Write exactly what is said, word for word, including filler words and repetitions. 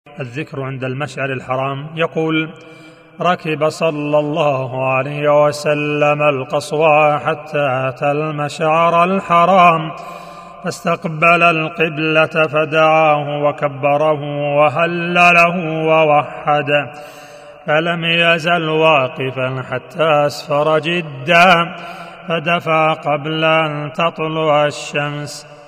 الذكر عند المشعر الحرام. يقول: ركب صلى الله عليه وسلم القصوى حتى أتى المشعر الحرام فاستقبل القبلة فدعاه وكبره وهلله ووحد، فلم يزل واقفا حتى أسفر جدا فدفع قبل أن تطلع الشمس